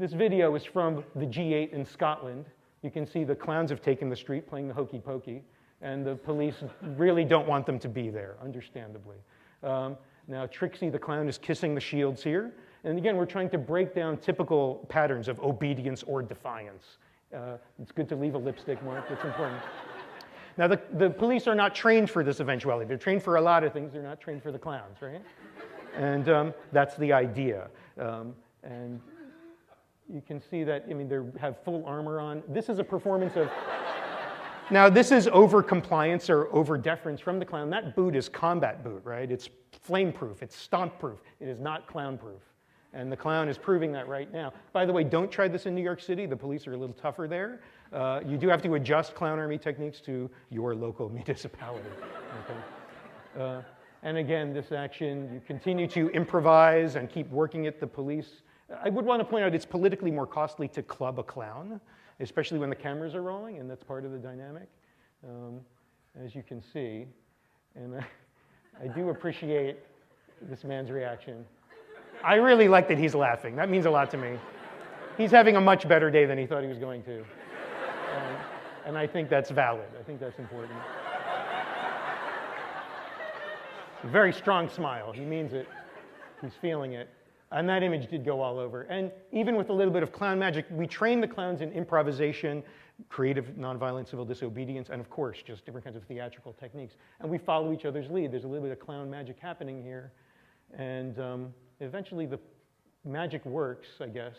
This video is from the G8 in Scotland. You can see the clowns have taken the street playing the hokey pokey, and the police really don't want them to be there, understandably. Now, Trixie the clown is kissing the shields here. And again, we're trying to break down typical patterns of obedience or defiance. It's good to leave a lipstick mark, it's important. Now, the police are not trained for this eventuality. They're trained for a lot of things. They're not trained for the clowns, right? And that's the idea. And you can see that, I mean, they have full armor on. This is a performance of, now this is over compliance or over deference from the clown. That boot is combat boot, right? It's flame proof, it's stomp proof. It is not clown proof. And the clown is proving that right now. By the way, don't try this in New York City. The police are a little tougher there. You do have to adjust clown army techniques to your local municipality. Okay? And again, this action, you continue to improvise and keep working at the police. I would want to point out it's politically more costly to club a clown, especially when the cameras are rolling, and that's part of the dynamic, as you can see. And I do appreciate this man's reaction. I really like that he's laughing. That means a lot to me. He's having a much better day than he thought he was going to. And I think that's valid. I think that's important. Very strong smile. He means it. He's feeling it. And that image did go all over. And even with a little bit of clown magic, we train the clowns in improvisation, creative nonviolent civil disobedience, and of course, just different kinds of theatrical techniques. And we follow each other's lead. There's a little bit of clown magic happening here. And eventually the magic works, I guess.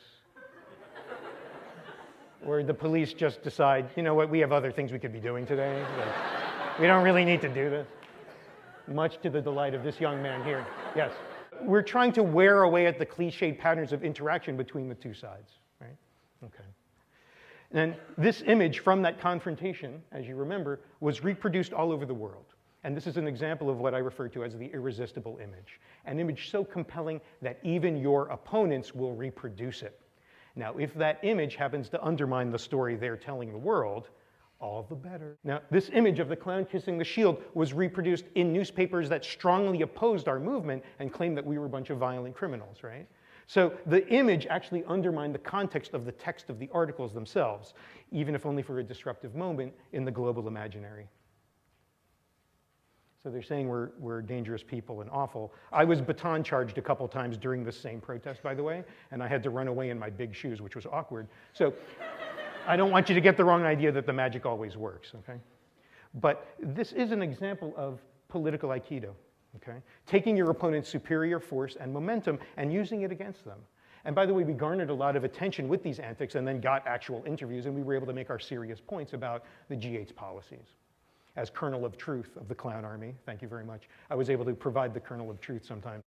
Or the police just decide, you know what, we have other things we could be doing today. So we don't really need to do this. Much to the delight of this young man here. Yes. We're trying to wear away at the cliched patterns of interaction between the two sides, right? Okay. And this image from that confrontation, as you remember, was reproduced all over the world. And this is an example of what I refer to as the irresistible image. An image so compelling that even your opponents will reproduce it. Now, if that image happens to undermine the story they're telling the world, all the better. Now, this image of the clown kissing the shield was reproduced in newspapers that strongly opposed our movement and claimed that we were a bunch of violent criminals, right? So the image actually undermined the context of the text of the articles themselves, even if only for a disruptive moment in the global imaginary. So they're saying we're dangerous people and awful. I was baton charged a couple times during this same protest, by the way, and I had to run away in my big shoes, which was awkward. So I don't want you to get the wrong idea that the magic always works, okay? But this is an example of political Aikido, okay? Taking your opponent's superior force and momentum and using it against them. And by the way, we garnered a lot of attention with these antics and then got actual interviews, and we were able to make our serious points about the G8's policies. As kernel of truth of the clown army, thank you very much, I was able to provide the kernel of truth sometimes.